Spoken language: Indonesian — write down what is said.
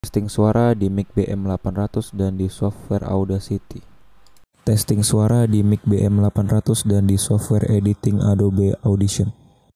Testing suara di mic BM800 dan di software Audacity. Testing suara di mic BM800 dan di software editing Adobe Audition.